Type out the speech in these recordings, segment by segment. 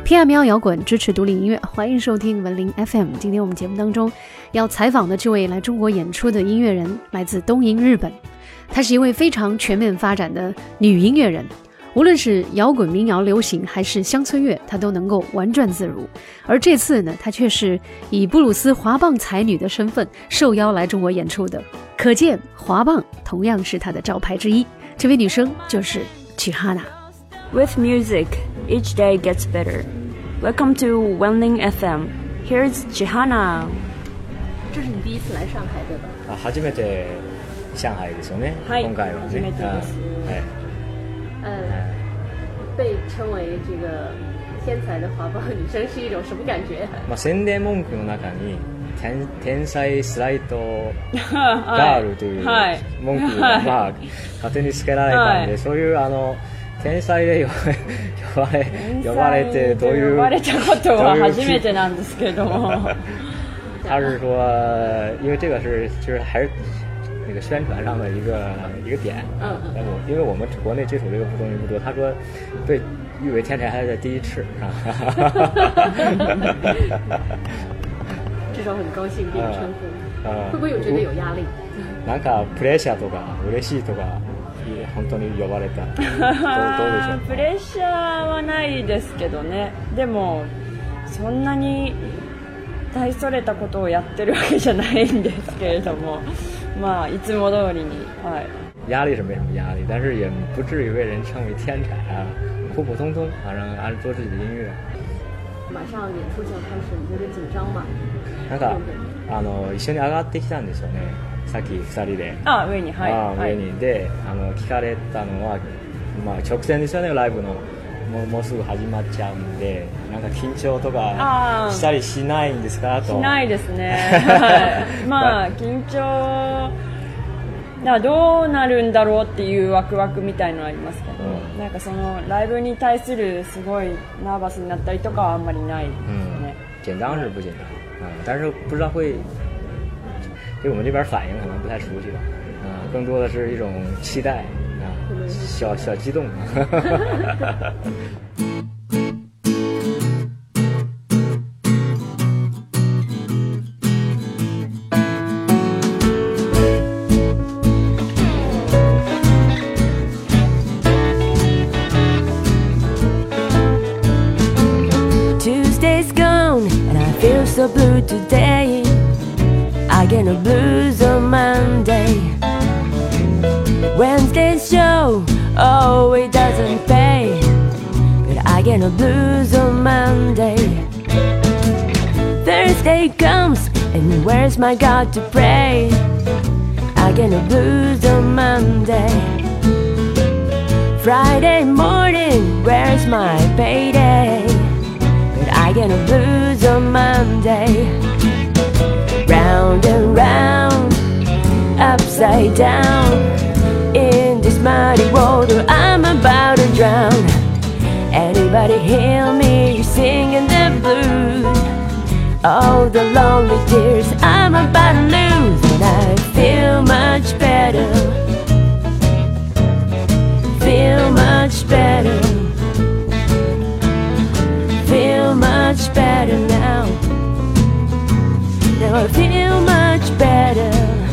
PM 摇滚支持独立音乐，欢迎收听文林 FM。今天我们节目当中要采访的这位来中国演出的音乐人，来自东瀛日本。她是一位非常全面发展的女音乐人，无论是摇滚、民谣、流行还是乡村乐，她都能够玩转自如。而这次呢，她却是以布鲁斯滑棒才女的身份受邀来中国演出的，可见滑棒同样是她的招牌之一。这位女生就是 Chihana。With music, each day gets better. Welcome to Wenling FM. Here's Chihana. 这是你第一次来上海对吧？ 初めて上海ですよね。今回はね。 被称为这个天才的滑棒女生是一种什么感觉？ 宣伝文句の中に天才スライドガールという文句が勝手につけられたんで、そういう天才で呼ばれてどういう呼ばれたことは初めてなんですけども。 他是说，因为这个就是还是那个宣传上的一个点。因为我们国内接触这个东西不多，他说被誉为天才还是第一次啊。 至少很高兴被你称呼。会不会有觉得有压力？ なんかプレッシャーとか嬉しいとか。本当に呼ばれた。どうでしょう。 プレッシャーはないですけどね。でもそんなに大それたことをやってるわけじゃないんですけれども、いつも通りに。 压力是没什么压力，但是也不至于被人称为天才啊，普普通通，反正按做自己的音乐。 马上演出就要开始，你觉得紧张吗？ なんか一緒に上がってきたんですよね。さっき2人で上に上にで聞かれたのは、直前ですよね。ライブのもうすぐ始まっちゃうんで、なんか緊張とかしたりしないんですかと。 しないですね。緊張どうなるんだろうっていうワクワクみたいのはありますけど、なんかそのライブに対するすごいナーバスになったりとかはあんまりないですね。 紧张是不紧张，但是不知道会。对我们这边反应可能不太熟悉吧，更多的是一种期待小激动。 Tuesday's gone and I feel so blue today.I get no blues on Monday. Wednesday's show, oh, it doesn't pay, but I get no blues on Monday. Thursday comes, and where's my God to pray? I get no blues on Monday. Friday morning, where's my payday? But I get no blues on Monday.Round and round, upside down, in this muddy water I'm about to drown. Anybody hear me singing the blues? Oh, the lonely tears I'm about to lose. And I feel much better, feel much better, feel much better now.Now I feel much better.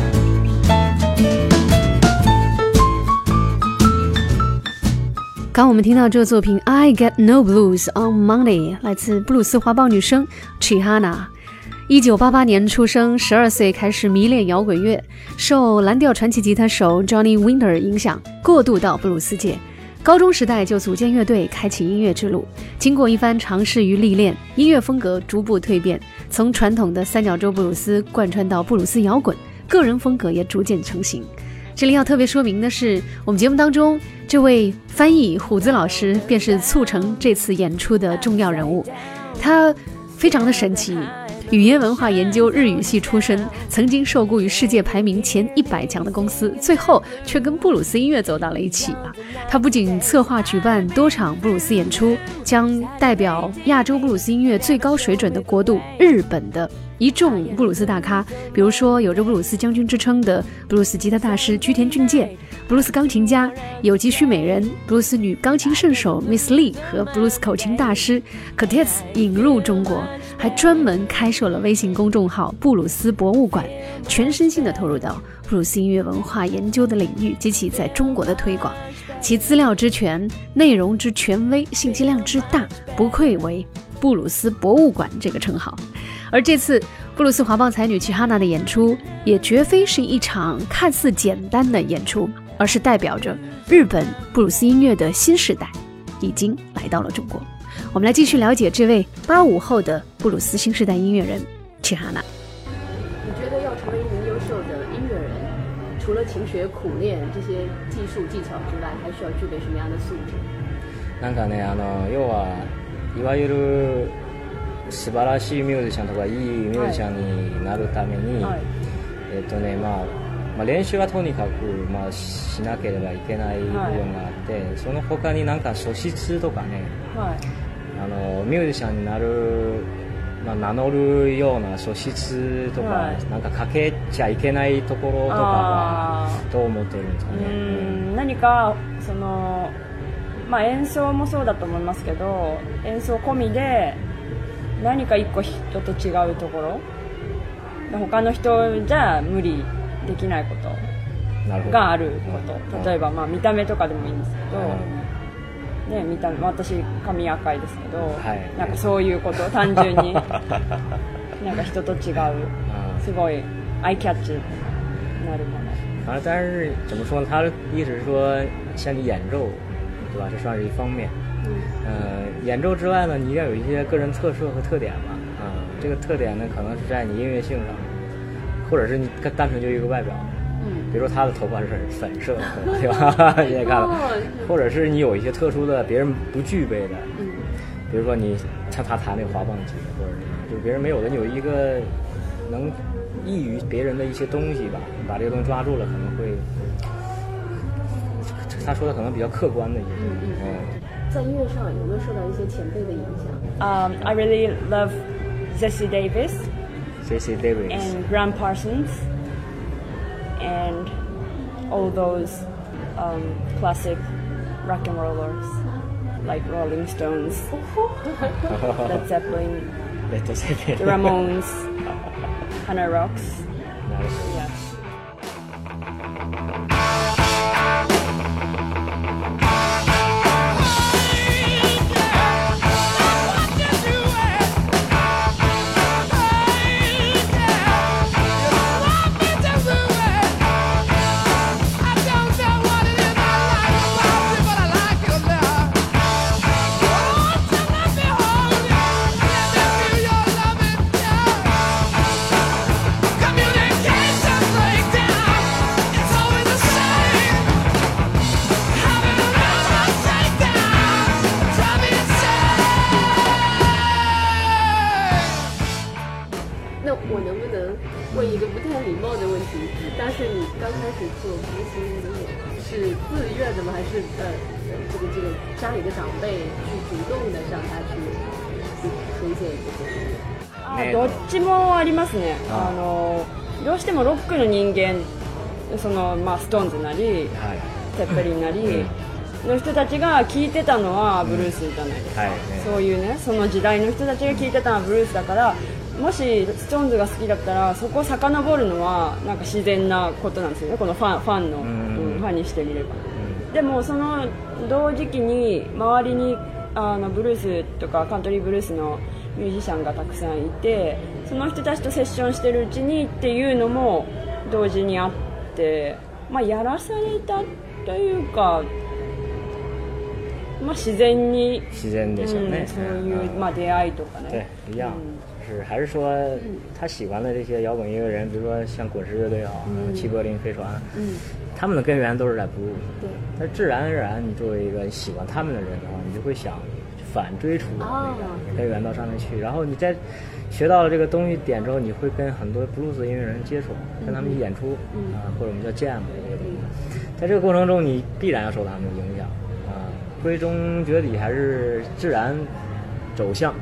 刚我们听到这个作品 I Get No Blues on Monday 来自布鲁斯滑棒女生 Chihana。 1988年出生，12岁开始迷恋摇滚乐，受蓝调传奇吉他手 Johnny Winter 影响，过渡到布鲁斯界。高中时代就组建乐队，开启音乐之路。经过一番尝试与历练，音乐风格逐步蜕变，从传统的三角洲布鲁斯贯穿到布鲁斯摇滚，个人风格也逐渐成型。这里要特别说明的是，我们节目当中这位翻译虎子老师便是促成这次演出的重要人物。他非常的神奇，语言文化研究日语系出身，曾经受雇于世界排名前100强的公司，最后却跟布鲁斯音乐走到了一起啊！他不仅策划举办多场布鲁斯演出，将代表亚洲布鲁斯音乐最高水准的国度日本的一众布鲁斯大咖，比如说有着布鲁斯将军之称的布鲁斯吉他大师居田俊介， 布鲁斯钢琴家、有机须美人、布鲁斯女钢琴圣手 Miss Lee 和布鲁斯口琴大师 Curtis 引入中国，还专门开设了微信公众号布鲁斯博物馆，全身心地投入到布鲁斯音乐文化研究的领域及其在中国的推广，其资料之全、内容之权威、信息量之大，不愧为布鲁斯博物馆这个称号。而这次布鲁斯滑棒才女齐哈娜的演出，也绝非是一场看似简单的演出，而是代表着日本布鲁斯音乐的新时代已经来到了中国。我们来继续了解这位85后的布鲁斯新时代音乐人齐哈娜。 你觉得要成为一名优秀的音乐人，除了勤学苦练这些技术技巧之外，还需要具备什么样的素质？ なんかね、要はいわゆる素晴らしいミュージシャンとかいいミュージシャンになるために、練習はとにかく、しなければいけない部分があって、その他になんか素質とかね、ミュージシャンになる、名乗るような素質とか、なんかかけちゃいけないところとかはどう思ってるんですかね。 何かその、演奏もそうだと思いますけど、演奏込みで何か一個人と違うところ、他の人じゃ無理できないことがあること、例えば見た目とかでもいいんですけど、見た目、私髪赤いですけど、なんかそういうこと単純になんか人と違うすごいアイキャッチになるもの。 但是怎么说呢？他的意思是说，像你演奏，对吧？这算是一方面。演奏之外呢，你要有一些个人特色和特点嘛。这个特点呢，可能是在你音乐性上，或者是你单纯就一个外表。比如说他的头发是粉色的，对吧？你也看了，或者是你有一些特殊的别人不具备的，比如说你像他弹那个滑棒机，或者是就别人没有的，你有一个能异于别人的一些东西吧，把这个东西抓住了，可能会他说的可能比较客观的一些东西。 在音乐上有没有受到一些前辈的影响 ？I really love Jessie Davis and Graham Parsons and all those classic rock and rollers like Rolling Stones, Led Zeppelin, the Ramones, Hannah Rocks. Yeah. 家里的長輩去主動的向他去推薦一些どっちもありますね。どうしてもロックの人間、そのストーンズなり、テッペリンなりの人たちが聴いてたのはブルースじゃないですか。そういうね、その時代の人たちが聴いてたのはブルースだから、もしストーンズが好きだったらそこを遡るのはなんか自然なことなんですよね。このファンの、ファンにしてみれば。でもその同時期に周りにブルースとかカントリーブルースのミュージシャンがたくさんいて、その人たちとセッションしてるうちにっていうのも同時にあって、やらされたというか、自然に自然でしょうね。 そういう出会いとかね。 对，一样。是还是说他喜欢的这些摇滚音乐人，比如说像滚石乐队也好，齐柏林飞船，他们的根源都是在 blues。对，但自然而然，你作为一个喜欢他们的人的话，你就会想反追出那个根源到上面去，然后你在学到了这个东西点之后，你会跟很多 blues 音乐人接触，跟他们演出或者我们叫 jam 这个东西，在这个过程中你必然要受他们的影响归根结底还是自然走向。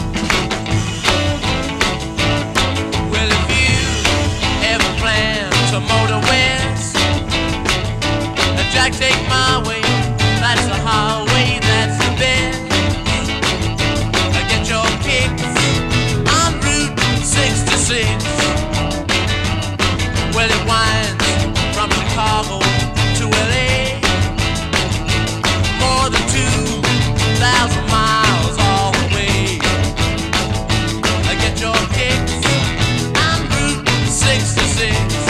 Well, if you ever plan to the motor west. Jack, take my way, that's the highway, that's the best. Get your kicks on Route 66. Well, it winds from Chicago to LA, more than 2,000 miles all the way. Get your kicks on Route 66.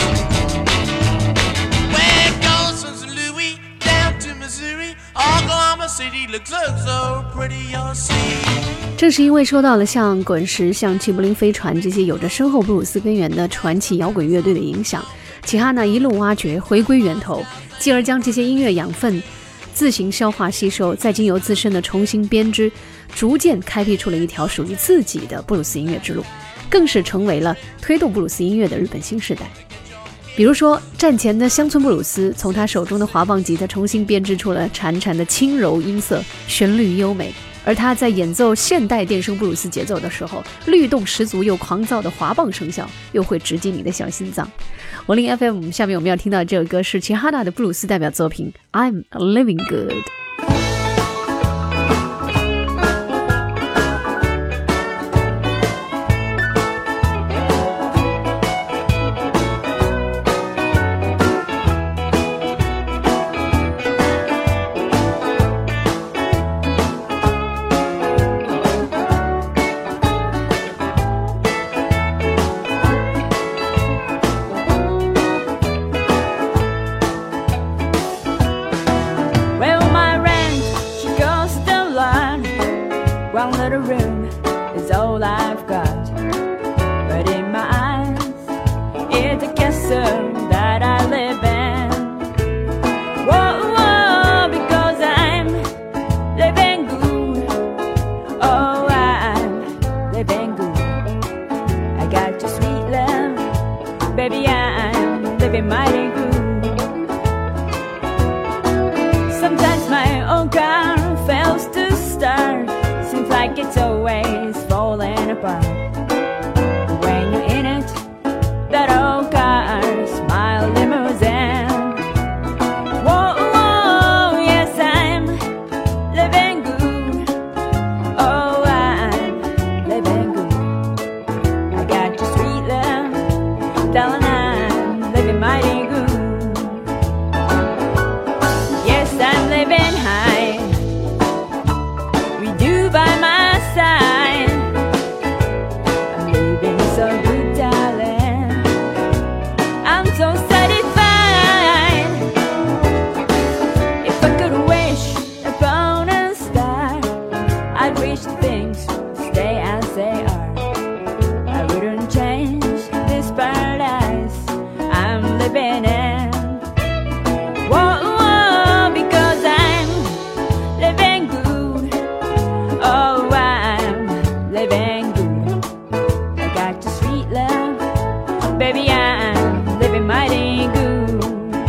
Where it goes from St. Louis down to Missouri, Oklahoma City looks so pretty, you'll see. 正是因为受到了像滚石、像齐柏林飞船这些有着深厚布鲁斯根源的传奇摇滚乐队的影响，齐哈娜一路挖掘，回归源头，继而将这些音乐养分自行消化吸收，再经由自身的重新编织，逐渐开辟出了一条属于自己的布鲁斯音乐之路，更是成为了推动布鲁斯音乐的日本新时代。比如说战前的乡村布鲁斯，从他手中的滑棒吉他重新编织出了潺潺的轻柔音色，旋律优美。而他在演奏现代电声布鲁斯节奏的时候，律动十足又狂躁的滑棒声效又会直击你的小心脏。文林 FM 下面我们要听到的这首歌是齐哈娜的布鲁斯代表作品 I'm Living Good。 One little room is all I've got, but in my eyes, it's a castle that I live in. Whoa, whoa, because I'm living good. Oh, I'm living good. I got your sweet love, baby, I'm living mighty good. Sometimes my old car fails to start, seems like it's always falling apart. When you're in it, that old car, smile limousine. Whoa, whoa, yes, I'm living good. Oh, I'm living good. I got your sweet love, darling, I'm living mighty good. Yes, I'm living high, by my side. I'm living so good, darling. I'm so satisfied. If I could wish upon a star, I'd wish things stay as they are. I wouldn't change this paradise I'm living in. Whoa, whoa, because I'm living good. Oh, I'm living good. I got your sweet love, baby, I'm living mighty good.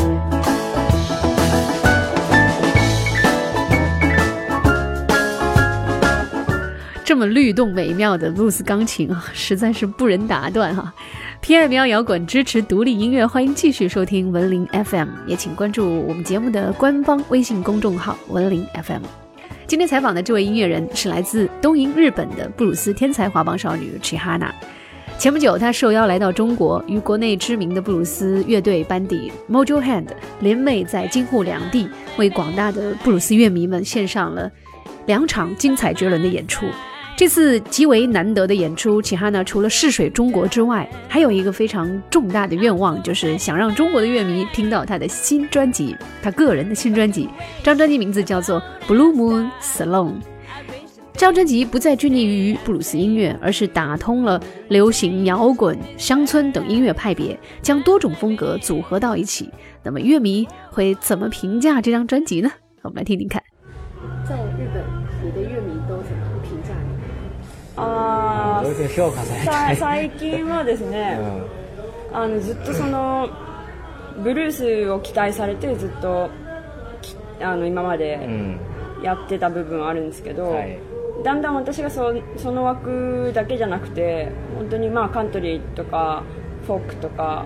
这么律动美妙的布鲁斯钢琴啊，实在是不忍打断哈。偏爱民谣摇滚，支持独立音乐，欢迎继续收听文林 FM， 也请关注我们节目的官方微信公众号文林 FM。今天采访的这位音乐人是来自东瀛日本的布鲁斯天才滑棒少女齐哈娜。前不久，她受邀来到中国，与国内知名的布鲁斯乐队班底 Mojo Hand 联袂在京沪两地，为广大的布鲁斯乐迷们献上了2场精彩绝伦的演出。这次极为难得的演出，齐哈娜除了试水中国之外，还有一个非常重大的愿望，就是想让中国的乐迷听到她的新专辑，她个人的新专辑。这张专辑名字叫做 Blue Moon Salon。这张专辑不再拘泥于布鲁斯音乐，而是打通了流行、摇滚、乡村等音乐派别，将多种风格组合到一起。那么乐迷会怎么评价这张专辑呢？我们来听听看。 在日本，你的乐迷都怎么评价你？ どういう評価されたい？ 最近はですね、ずっとそのブルースを期待されてずっと今までやってた部分はあるんですけど、だんだん私がその枠だけじゃなくて、本当にカントリーとかフォークとか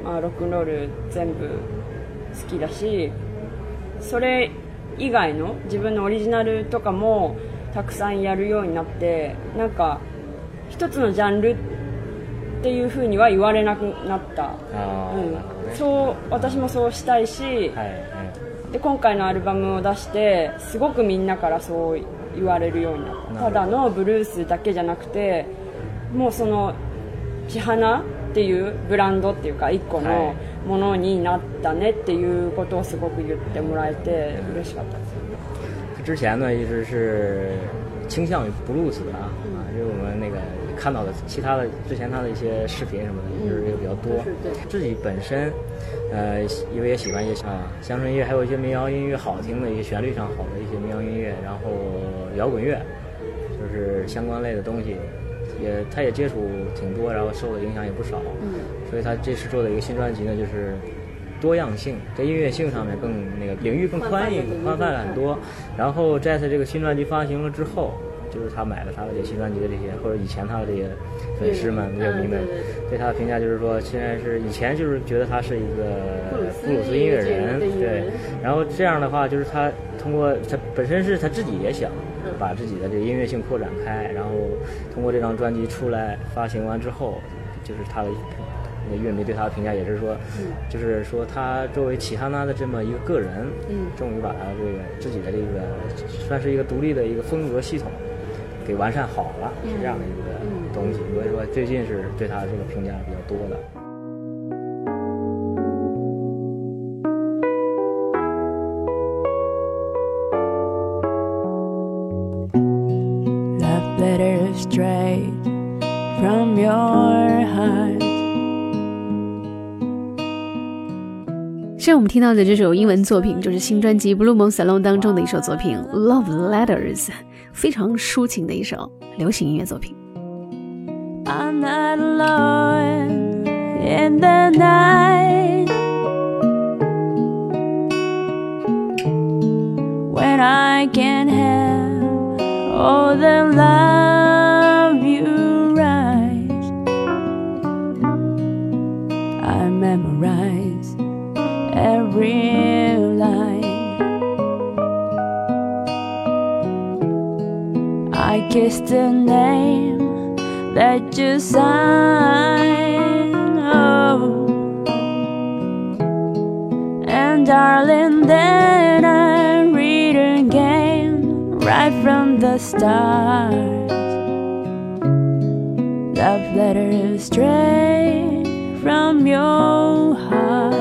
まあ、ロックンロール全部好きだし、それ以外の自分のオリジナルとかもたくさんやるようになって、なんか一つのジャンルっていう風には言われなくなった。そう、私もそうしたいし、で今回のアルバムを出してすごくみんなからそう言われるようになった。ただのブルースだけじゃなくて、もうその千花っていうブランドっていうか一個のものになったねっていうことをすごく言ってもらえて嬉しかったです。 之前呢一直是倾向于布鲁斯的因为我们那个看到的其他的之前他的一些视频什么的也是比较多。自己本身因为也喜欢一些乡村音乐，还有一些民谣音乐，好听的一些旋律上好的一些民谣音乐，然后摇滚乐，就是相关类的东西。他也接触挺多，然后受的影响也不少，所以他这次做的一个新专辑呢，就是多样性，在音乐性上面更那个领域更宽泛了很多。然后在他这个新专辑发行了之后，就是他买了他的这新专辑的这些，或者以前他的这些粉丝们、乐迷们对他的评价就是说，现在是以前就是觉得他是一个布鲁斯音乐人，对。然后这样的话，就是他通过他本身是他自己也想把自己的这个音乐性扩展开，然后通过这张专辑出来发行完之后，就是他的乐迷对他的评价也是说，就是说他作为齐哈娜的这么一个个人，终于把他这个自己的这个算是一个独立的一个风格系统给完善好了，是这样的一个东西。所以说最近是对他这个评价比较多的。 Letter straight from your heart。 现在我们听到的这首英文作品就是新专辑《Blue Moon Salon》当中的一首作品《Love Letters》，非常抒情的一首流行音乐作品。 I'm not alone in the night when I can have all the love you write. I memorize every line. I kiss the name that you sign, oh. And darling, then I read again right from the start. Love letters straight from your heart.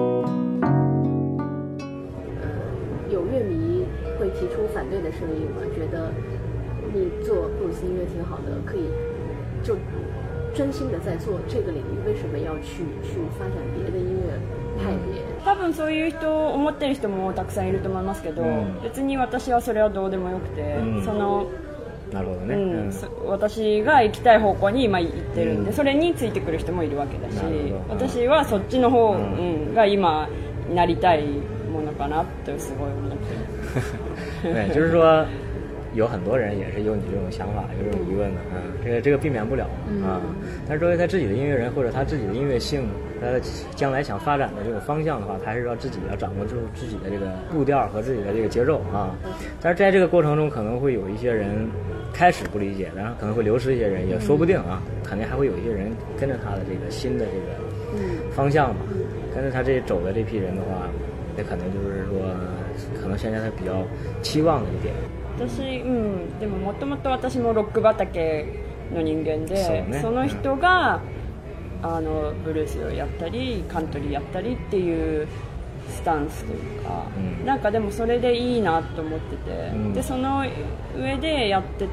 有乐迷会提出反对的声音吗？觉得你做布鲁斯音乐挺好的，可以就真心的在做这个领域，为什么要去发展别的音乐派别？ 多分そういう人思ってる人もたくさんいると思いますけど、別に私はそれはどうでもよくて、そのなるほどね、 私が行きたい方向に今行ってるんで、それについてくる人もいるわけだし、私はそっちの方、が今なりたいものかなってすごい思ってる。 对，就是说有很多人也是有你这种想法，有这种疑问的，这个避免不了但是作为他自己的音乐人或者他自己的音乐性，他将来想发展的这种方向的话，他还是要自己要掌握住自己的这个步调和自己的这个节奏但是在这个过程中，可能会有一些人开始不理解，然后可能会流失一些人，也说不定肯定还会有一些人跟着他的这个新的这个方向嘛，跟着他这走的这批人的话，这可能就是说，可能现在他比较期望的一点。 私、でももともと私もロック畑の人間で、その人がブルースをやったりカントリーやったりっていうスタンスというか、なんかでもそれでいいなと思ってて、でその上でやってって、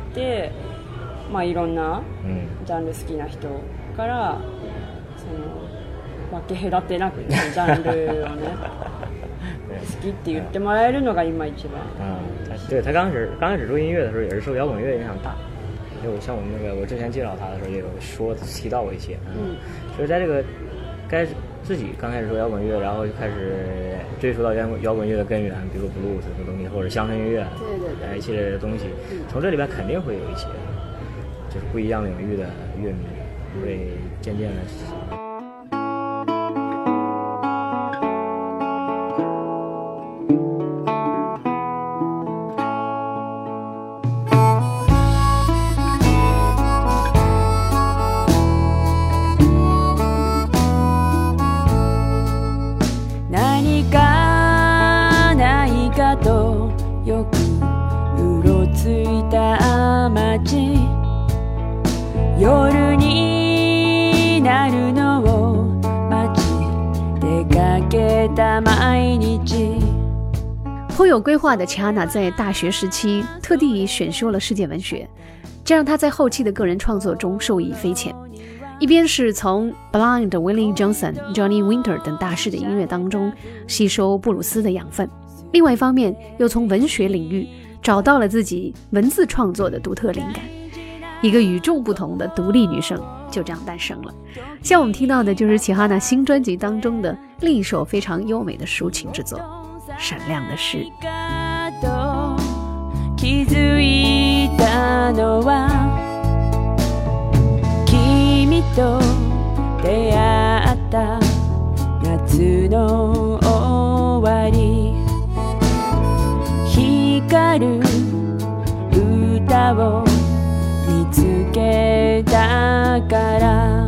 いろんなジャンル好きな人からその分け隔てなくジャンルをね好きって言ってもらえるのが今一番。 对，他刚开始做音乐的时候也是受摇滚乐影响大，就像我们那个我之前介绍他的时候也有提到过一些所以在这个自己刚开始做摇滚乐，然后就开始追溯到摇滚乐的根源，比如布鲁斯的东西或者乡村音乐，对一系列的东西，从这里边肯定会有一些就是不一样领域的乐迷会渐渐的何かないかとよくうろついた街夜になるのを待ち出かけた毎日。 颇有规划的齐哈娜在大学时期特地选修了世界文学，这让她在后期的个人创作中受益匪浅。一边是从 Blind、Willie Johnson、Johnny Winter 等大师的音乐当中吸收布鲁斯的养分，另外一方面又从文学领域找到了自己文字创作的独特灵感。一个与众不同的独立女生就这样诞生了。像我们听到的就是齐哈娜新专辑当中的另一首非常优美的抒情之作《闪亮的诗》。 気づいたのは君と出会った夏の終わり光る歌を見つけたから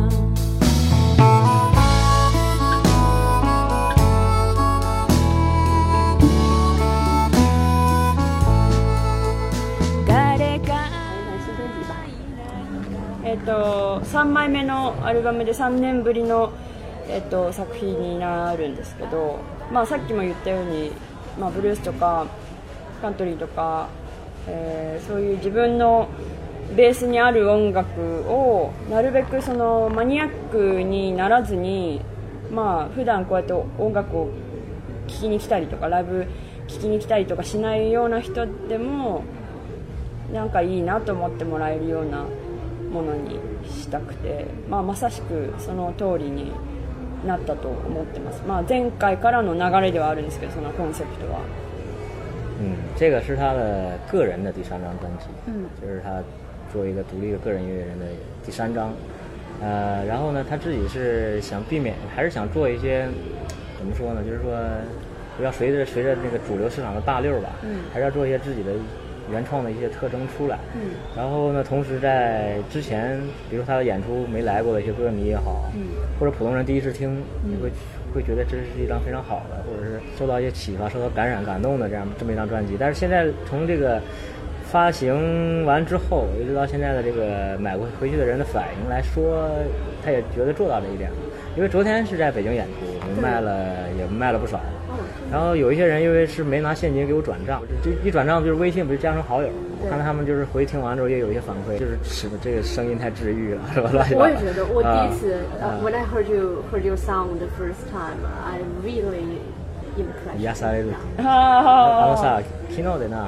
3枚目のアルバムで3年ぶりの、作品になるんですけど、さっきも言ったように、ブルースとかカントリーとか、そういう自分のベースにある音楽をなるべくそのマニアックにならずに、普段こうやって音楽を聴きに来たりとかライブ聴きに来たりとかしないような人でもなんかいいなと思ってもらえるようなものにしたくて、まさしくその通りになったと思ってます。前回からの流れではあるんですけど、そのコンセプトは。 这个是他的个人的第3张专辑，就是他作为一个独立的个人音乐人的第3张。然后呢，他自己是想避免，还是想做一些怎么说呢？就是说不要随着那个主流市场的大溜吧，还是要做一些自己的原创的一些特征出来。然后呢，同时在之前，比如他的演出没来过的一些歌迷也好，或者普通人第一次听，你会觉得这是一张非常好的，或者是受到一些启发、受到感染、感动的这么一张专辑。但是现在从这个发行完之后，一直到现在的这个买回去的人的反应来说，他也觉得做到这一点了。因为昨天是在北京演出，也卖了不少。然后有一些人因为是没拿现金给我转账，就一转账就是微信不是加上好友，我看到他们就是回听完之后也有一些反馈，就是这个声音太治愈了，是吧？ 我也觉得，我第一次when I heard your sound the first time, I really impressed. 癒される。さ昨日でな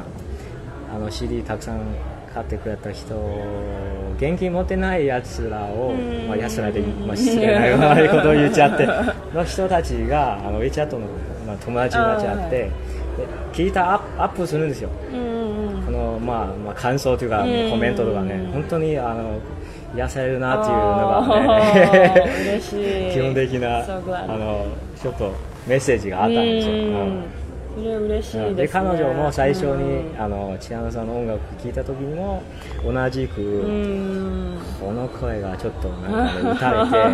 CD たくさん買ってくれた人、現金持ってないやつらを、安らで失礼な悪いことを言っちゃっての人たちがWeChat の、友達になっちゃって、聞いたアップするんですよ。この感想というかコメントとかね、本当に癒されるなっていうのがね嬉しい基本的なちょっとメッセージがあったんですよ。 それ嬉しいですね。 で彼女も最初に千春さんの音楽聴いた時にも同じくこの声がちょっとなんか、打たれて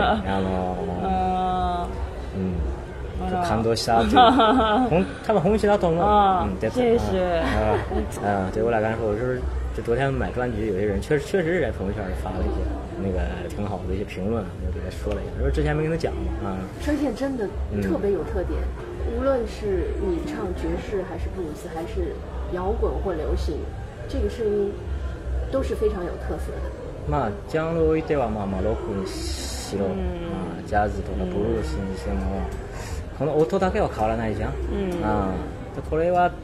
感动したっていう多分本心だと思う。 谢谢。 对我来说，就昨天买专辑，有些人确实是在朋友圈里发了一些那个挺好的一些评论，我就给他说了一下，说之前没跟他讲嘛。 声线真的特别有特点，无论是你唱爵士还是布鲁斯还是摇滚或流行，这个声音都是非常有特色的。 ジャンルを置いてはロックにしろ、ジャズとかブルースにしても、この音だけは変わらないじゃん。これは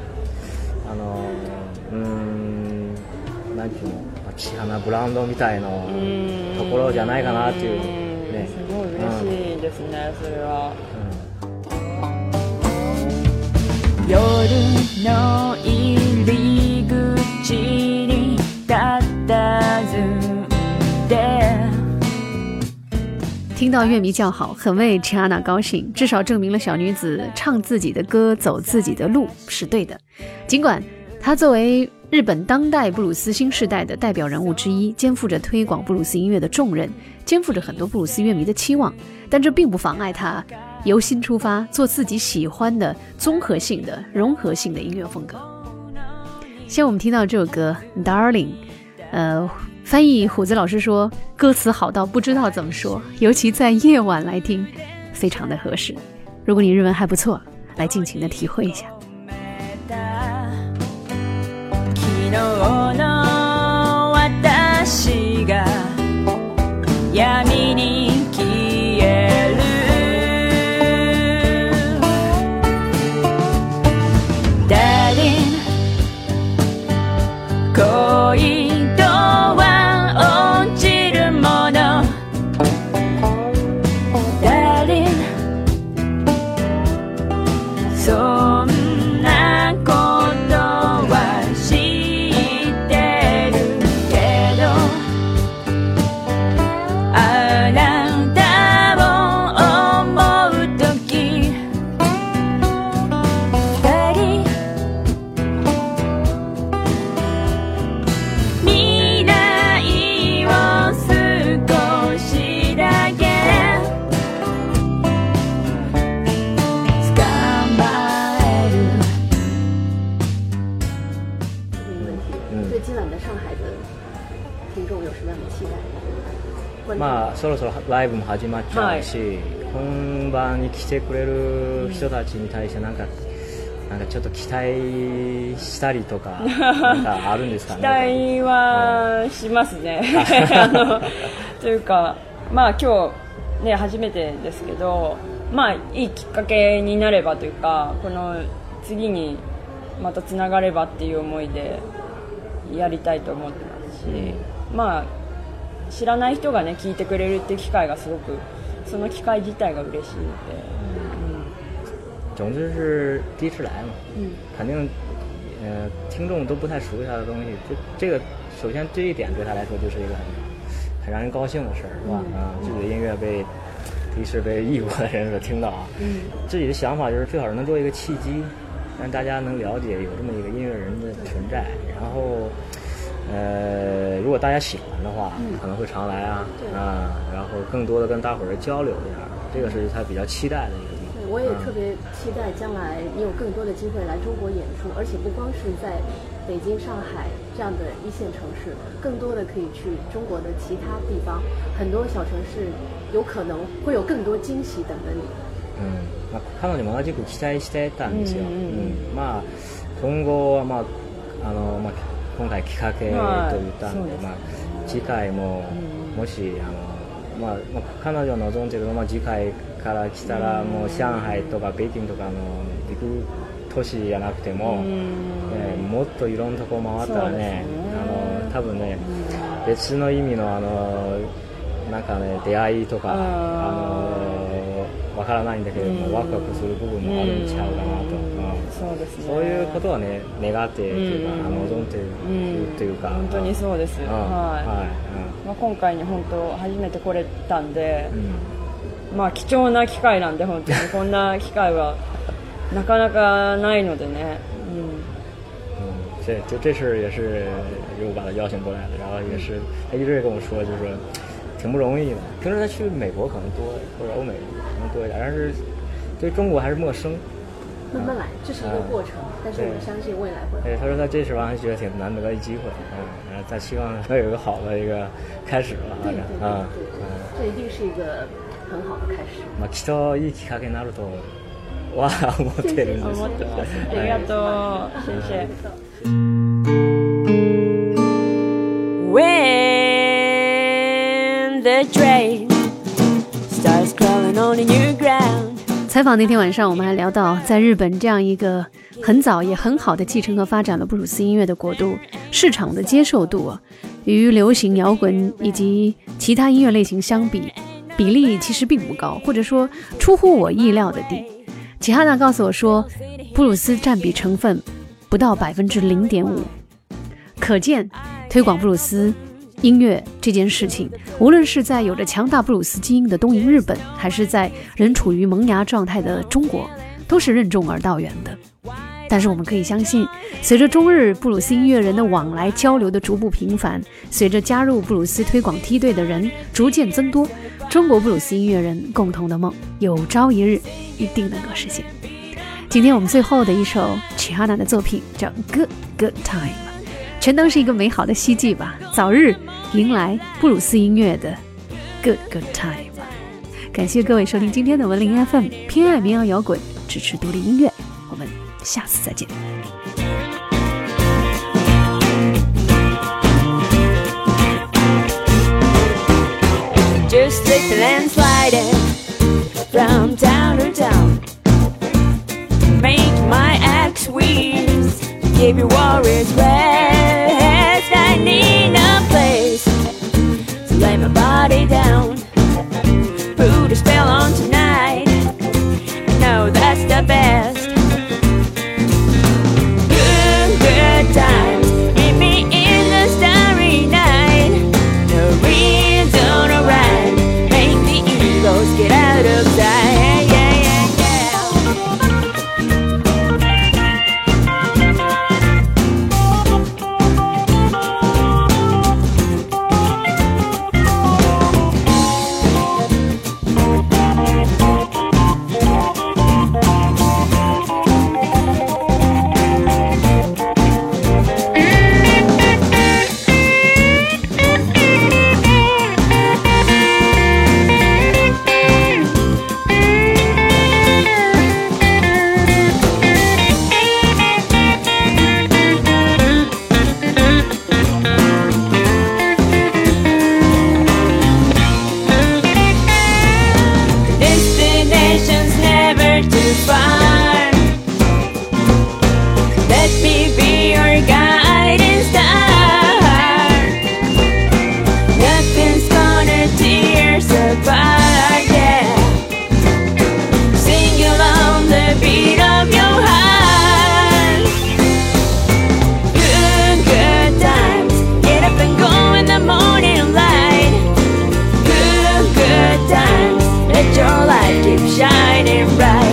なんていうの、千花ブランドみたいなところじゃないかなっていうね。 すごい嬉しいですね、それは。 夜の入り口に佇んで。 听到乐迷叫好，很为 Chiana 高兴，至少证明了小女子唱自己的歌、走自己的路是对的。尽管她作为日本当代布鲁斯新时代的代表人物之一，肩负着推广布鲁斯音乐的重任，肩负着很多布鲁斯乐迷的期望，但这并不妨碍他由心出发，做自己喜欢的综合性的融合性的音乐风格。像我们听到这首歌 Darling， 翻译虎子老师说歌词好到不知道怎么说，尤其在夜晚来听非常的合适。如果你日文还不错，来尽情的体会一下。 昨日の私が闇に消える Darling 恋とは落ちるもの Darling そんなことは知ってるけどあなたを思うとき二人未来を少しだけ捕まえる对今晚的上海的听众有什么样的期待？ まあそろそろライブも始まっちゃうし、本番に来てくれる人たちに対してなんかちょっと期待したりとかなんかあるんですかね。 期待はしますねというかまあ今日ね初めてですけど、まあいいきっかけになればというか、この次にまたつながればっていう思いでやりたいと思ってますし、まあ知らない人がね聞いてくれるっていう機会がすごく、その机会自体が嬉しいので。 总之是第一次来嘛，肯定听众都不太熟悉他的东西，这个首先这一点对他来说就是一个很让人高兴的事儿，是吧？自己的音乐被第一次被异国的人所听到啊，自己的想法就是最好是能做一个契机，让大家能了解有这么一个音乐人的存在，然后如果大家喜欢的话，可能会常来啊，然后更多的跟大伙儿交流一下，这个是他比较期待的一个地方。 我也特别期待将来你有更多的机会来中国演出，而且不光是在北京、上海这样的一线城市，更多的可以去中国的其他地方，很多小城市有可能会有更多驚喜等着你。 彼女も同じく期待してたんですよ。まあ今後は今回きっかけと言ったので、次回ももし彼女の望んでいる次回から来たらもう上海とか北京とかのビッグ都市じゃなくても、もっといろんなとこ回ったらね、多分ね別の意味のなんかね出会いとかわからないんだけれどもワクワクする部分もあるんちゃうかなと、そういうことはね願ってというか望んでいるというか、 本当にそうです。今回に本当初めて来れたんで、まあ貴重な機会なんで本当にこんな機会はなかなかないのでね。 这事也是又把他邀请过来了，然后也是他一直跟我说，就是说挺不容易的。平时他去美国可能多，或者欧美可能多一点，但是对中国还是陌生。 慢慢来，这是一个过程，但是我们相信未来会。 对，他说他这次完觉得挺难得的机会，他希望能有一个好的一个开始吧， 对，这一定是一个很好的开始。 きっといいきっかけになるとは思ってるんです。 ありがとう、先生。 When the train starts crawling on the new ground。 采访那天晚上，我们还聊到，在日本这样一个很早也很好的继承和发展了布鲁斯音乐的国度，市场的接受度与流行摇滚以及其他音乐类型相比，比例其实并不高，或者说出乎我意料的低。齐哈娜告诉我说，布鲁斯占比成分不到 0.5%， 可见推广布鲁斯音乐这件事情，无论是在有着强大布鲁斯基因的东瀛日本，还是在仍处于萌芽状态的中国，都是任重而道远的。 但是我们可以相信，随着中日布鲁斯音乐人的往来交流的逐步频繁，随着加入布鲁斯推广梯队的人逐渐增多，中国布鲁斯音乐人共同的梦有朝一日一定能够实现。今天我们最后的一首 Chihana 的作品叫 Good Good Time， 全当是一个美好的希冀吧，早日迎来布鲁斯音乐的 Good Good Time。 感谢各位收听今天的文林 FM， 偏爱民谣摇滚，支持独立音乐，我们下次再见。 Just slipping and sliding from town to town, make my axe wheeze, give your worries rest. I need a place to lay my body down, put a spell on tonight, no that's the best. Good, good times, meet me in the starry night, no reason to ride, make the eagles get out of sight. Shining bright.